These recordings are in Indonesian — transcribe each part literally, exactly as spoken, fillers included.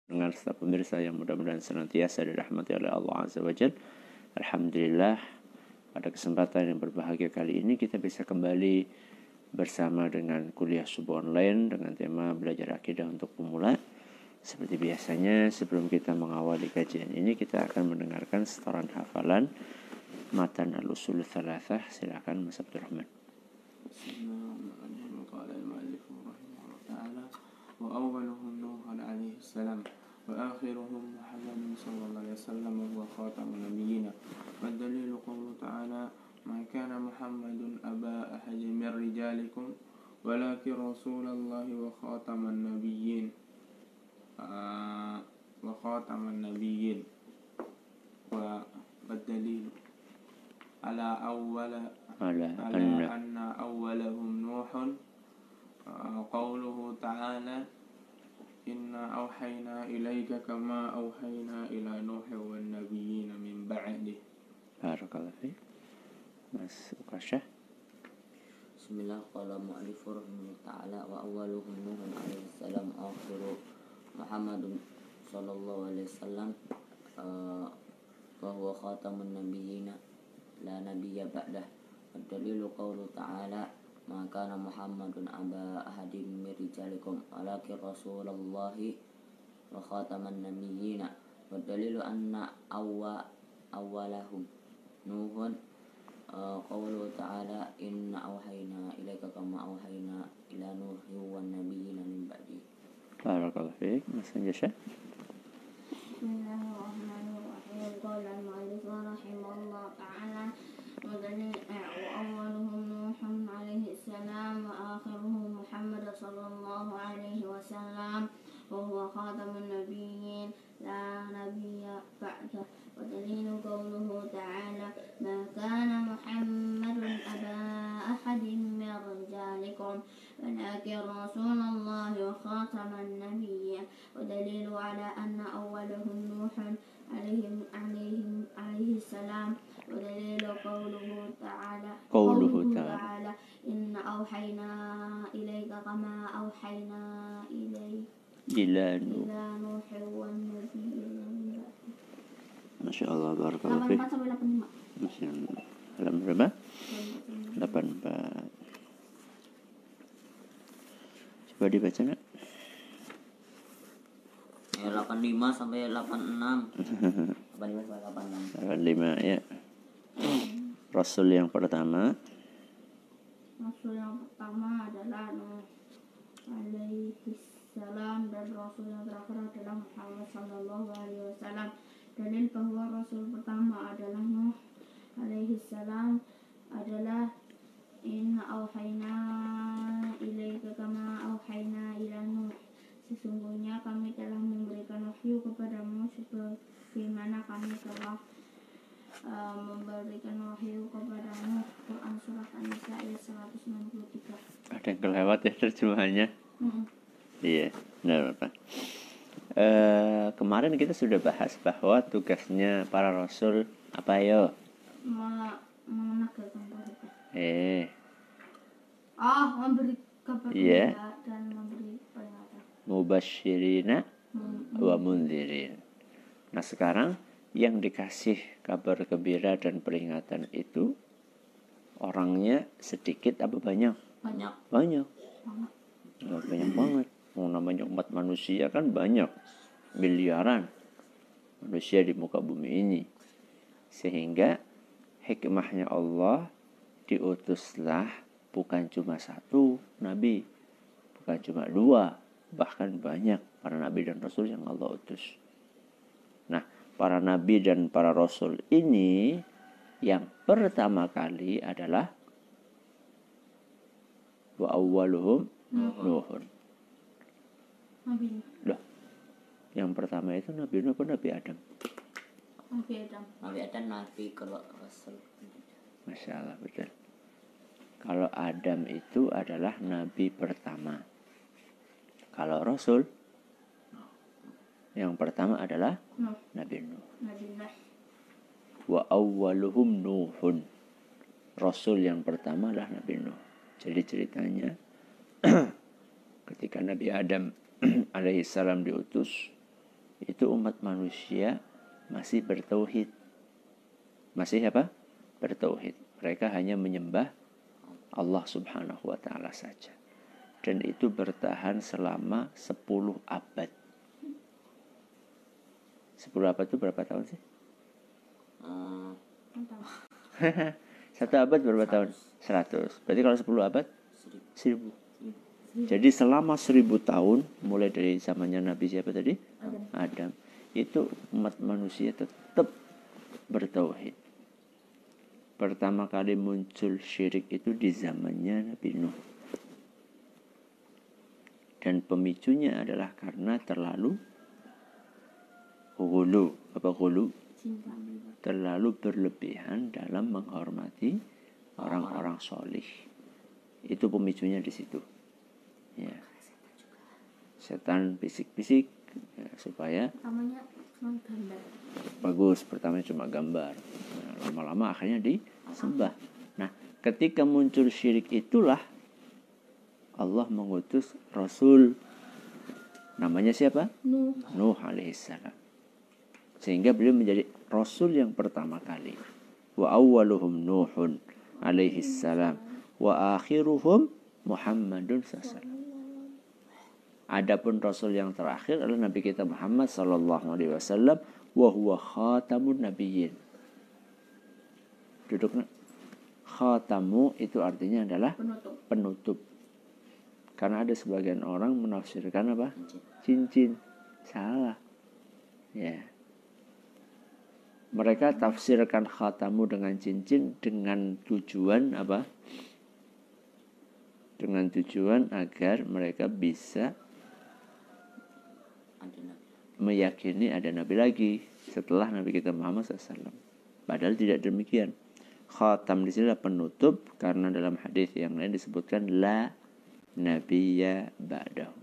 dengan serta pemirsa yang mudah-mudahan senantiasa dirahmati oleh Allah Azza wa Jalla. Alhamdulillah, pada kesempatan yang berbahagia kali ini kita bisa kembali bersama dengan kuliah subuh online dengan tema belajar akidah untuk pemula. Seperti biasanya, sebelum kita mengawali kajian ini, kita akan mendengarkan setoran hafalan matan al-usul thalathah. Silakan Mas Abdul Rahman. Wa awwaluhum Nuh alaihi salam wa akhiruhum Muhammad sallallahu alaihi wasallam wa khatamun nabiyyin. Wa dalilu qawlu ta'ala ma kana Muhammadun aba ahadin min rijalikum walakin rasulallahi wa khataman nabiyyin wa khataman nabiyyin. Wa dalilu ala awwala ala ala anna awwalahum Nuhun qawluhu ta'ala inna awhayna ilayka kama awhayna ila Nuh wan nabiyyin min ba'dih. Barakallahu fiik. Mas Ukasha. Bismillah, qala mu'allifu rahimahullah ta'ala wa awwaluhum Nuhun alaihi salam akhiru Muhammadun sallallahu alaihi wasallam wa huwa khatamun nabiyyin la nabiyya ba'dah. Dalilu qawlu ta'ala ma kana Muhammadun aba ahadin min rijalikum walakin rasulullahi wa khataman nabiyyin. Wa dalilu anna awwa awwalahum Nuhun qawlu ta'ala inna awhayna ilaika kama awhayna ila Nuhi wan nabiyyin min ba'di. Barakallahu fiik. Mas Anjasha. Bismillahirrahmanirrahim. Qala al-mu'allif rahimahullah ta'ala wa awwaluhum Nuhun alaihi salam wa akhiruhum Muhammad sallallahu alaihi wasallam wa huwa khatamun nabiyyin la nabiyya ba'dah. Wa dalilu qawluhu ta'ala ma kana Muhammadun aba ahadin min rijalikum walakin rasulullahi wa khataman nabiyyin. Wa dalilu ala anna awwalahum Nuhun alaihim alaihim alaihi salam. Wa dalilu qawluhu ta'ala Qawluhu ta'ala inna awhayna ilayka kama awhayna ilayka ila ila Nuh wan nabiyyin. Masya Allah, barakallahu delapan fiik. empat sampai delapan lima. Masya Allah. Alam berapa? delapan empat. Coba dibaca nak. Ya, delapan lima sampai delapan enam. delapan lima sampai delapan enam. delapan lima ya. Rasul yang pertama. Rasul yang pertama adalah Nuh alaihi salam dan Rasul yang terakhir adalah Muhammad sallallahu alaihi wasallam. Dalil bahwa Rasul pertama adalah Nuh alaihi salam adalah inna auhayna ilaika kama auhayna ila Nuh. Sesungguhnya kami telah memberikan wahyu kepadamu sebagaimana kami telah uh, memberikan wahyu kepadamu. Quran surah An-Nisa ayat seratus enam puluh tiga. Ada yang kelewat ya terjemahannya. Mm-hmm. Iya, benar Bapak. Uh, kemarin kita sudah bahas bahwa tugasnya para rasul apa yo? Menegakkan tauhid. Eh. Ah, memberi kabar yeah. gembira dan memberi peringatan. Mubasyirina Hmm. wa mundzirin. Nah, sekarang yang dikasih kabar gembira dan peringatan itu orangnya sedikit apa banyak? Banyak. Banyak. Banyak. Oh, banyak banget. Oh, namanya umat manusia kan banyak, miliaran manusia di muka bumi ini. Sehingga hikmahnya Allah diutuslah bukan cuma satu nabi, bukan cuma dua, bahkan banyak para nabi dan rasul yang Allah utus. Nah, para nabi dan para rasul ini yang pertama kali adalah wa awwaluhum Nuhun. Nabi Loh, yang pertama itu Nabi Nuh apa Nabi Adam? Nabi Adam. Nabi Adam, Nabi kalau Rasul. Masya Allah, betul. Kalau Adam itu adalah Nabi pertama. Kalau Rasul, yang pertama adalah Nuh. Nabi Nuh. Nabi Nuh. Wa awwaluhum Nuhun. Rasul yang pertama adalah Nabi Nuh. Jadi ceritanya ketika Nabi Adam alaihissalam diutus, itu umat manusia masih bertauhid. Masih apa? Bertauhid. Mereka hanya menyembah Allah Subhanahu wa taala saja. Dan itu bertahan selama sepuluh abad. sepuluh abad itu berapa tahun sih? Uh, Satu abad berapa tahun? seratus. Berarti kalau sepuluh abad? seribu. seribu. Jadi selama seribu tahun, mulai dari zamannya Nabi siapa tadi? Adam. Adam. Itu umat manusia tetap bertauhid. Pertama kali muncul syirik itu di zamannya Nabi Nuh. Dan pemicunya adalah karena terlalu ghulu. Apa ghulu? Cinta. Terlalu berlebihan dalam menghormati orang-orang solih. Itu pemicunya di situ. Ya. Setan bisik-bisik ya, supaya Pertamanya cuma gambar. bagus. Pertama cuma gambar. Nah, lama-lama akhirnya disembah. Nah, ketika muncul syirik itulah Allah mengutus Rasul. Namanya siapa? Nuh. Nuh alaihissalam. Sehingga beliau menjadi Rasul yang pertama kali. Wa awwaluhum Nuhun alaihissalam. Wa akhiruhum Muhammadun sallallahu alaihi wasallam. Adapun Rasul yang terakhir adalah Nabi kita Muhammad sallallahu alaihi wasallam. Wa huwa khatamun nabiyyin. Duduk nak. Khatamu itu artinya adalah Penutup. penutup. Karena ada sebagian orang menafsirkan apa? Cincin. Salah. Ya. Mereka tafsirkan khatamu dengan cincin dengan tujuan apa? Dengan tujuan agar mereka bisa Ada nabi. meyakini ada nabi lagi setelah Nabi kita Muhammad sallallahu alaihi wasallam. Padahal tidak demikian. Khatam di sini adalah penutup karena dalam hadis yang lain disebutkan la nabiyya ba'dahu.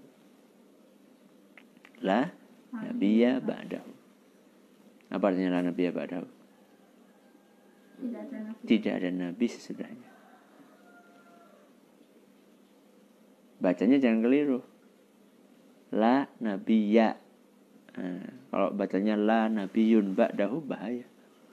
La nabiyya ba'dahu. Apa artinya la nabiyya ba'dahu? Tidak ada nabi. Tidak ada nabi sesudahnya. Bacanya jangan keliru. La nabiyya. Nah, kalau bacanya la nabiyun ba'dahu bahaya.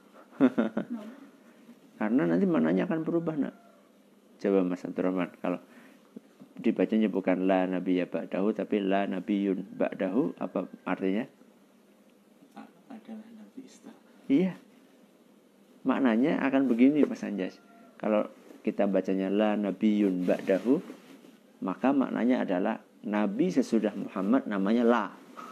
Karena nanti maknanya akan berubah nak. Coba Mas Abdurrahman, kalau dibacanya bukan la nabiyya ba'dahu tapi la nabiyun ba'dahu, apa artinya? Adalah nabi setelah. Iya. Maknanya akan begini Mas Anjas. Kalau kita bacanya la nabiyun ba'dahu, maka maknanya adalah nabi sesudah Muhammad namanya la.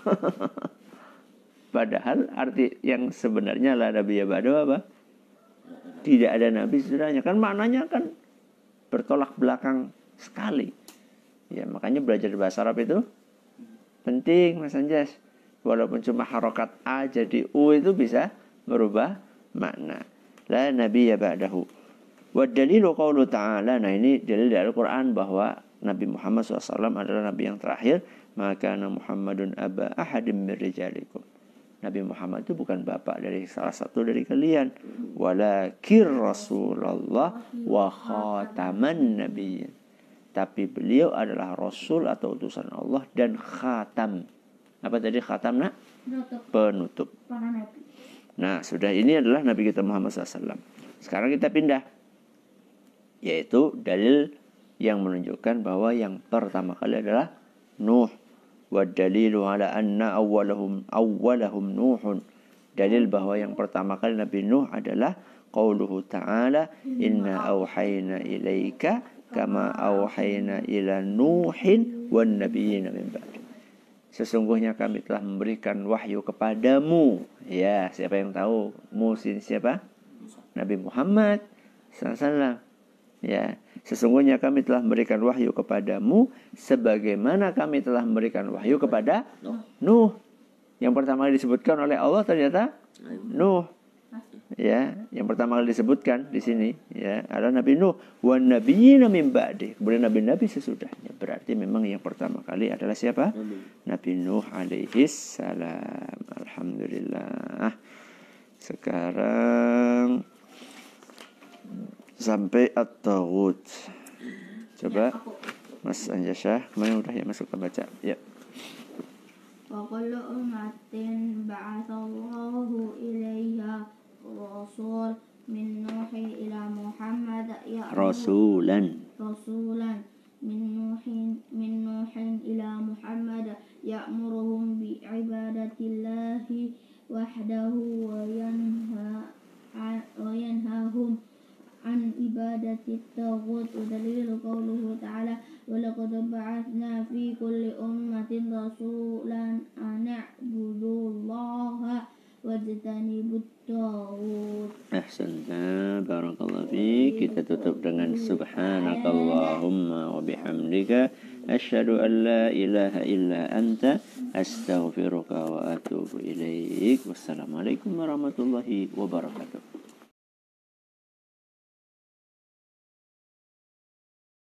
Padahal arti yang sebenarnya la nabiyya ba'dahu apa? Tidak ada nabi sesudahnya. Kan maknanya kan bertolak belakang sekali. Ya, makanya belajar bahasa Arab itu penting Mas Anjas. Walaupun cuma harokat A jadi U itu bisa merubah makna. La nabiyya ba'dahu. Wa dalilu qaulu ta'ala. Nah ini dalil dari Al-Quran bahwa Nabi Muhammad shallallahu alaihi wasallam adalah Nabi yang terakhir. Maka Muhammadun aba ahadim min rijalikum. Nabi Muhammad itu bukan bapak dari salah satu dari kalian. Walakir Rasulullah wa khataman nabiyyin. Tapi beliau adalah Rasul atau utusan Allah dan khatam. Apa tadi khatam nak? Penutup. Penutup. Para nabi. Nah sudah, ini adalah Nabi kita Muhammad shallallahu alaihi wasallam. Sekarang kita pindah. Yaitu dalil yang menunjukkan bahwa yang pertama kali adalah Nuh. Wa dalilu ala anna awwalahum awwalahum Nuhun. Dalil bahwa yang pertama kali Nabi Nuh adalah qauluhu ta'ala inna awhayna ilaika kama awhayna ila Nuhin wan nabiyina min ba'di. Sesungguhnya kami telah memberikan wahyu kepadamu. Ya, siapa yang tahu? Musin siapa? Nabi Muhammad sallallahu alaihi wasallam. Ya, sesungguhnya kami telah memberikan wahyu kepadamu sebagaimana kami telah memberikan wahyu kepada Nuh. Nuh. Yang pertama kali disebutkan oleh Allah ternyata Nuh. Ya, yang pertama kali disebutkan di sini ya adalah Nabi Nuh wan nabiyina min ba'di. Kemudian nabi-nabi sesudahnya. Berarti memang yang pertama kali adalah siapa? Nabi. Nabi Nuh alaihi salam. Alhamdulillah. Sekarang sampai at-taghut. Coba Ya, aku. Mas Anjasya, kemarin udah ya masuk ke baca. Ya. وكل أمة بعث الله إليها رسول من نوح إلى محمد يأمر رسولا رسولا من نوح من نوح إلى محمد يأمرهم بعبادة الله وحده وينهى وينهاهم عن عبادة الطاغوت. ودليل قوله تعالى ولقد بعثنا في كل أمة رسولا أن اعبدوا الله واجتنبوا الطاغوت. Ahsanta, barakallahu fiik. Kita tutup dengan subhanakallahumma wa bihamdika asyhadu an la ilaha illa anta astaghfiruka wa atubu ilaik. Wassalamualaikum warahmatullahi wabarakatuh.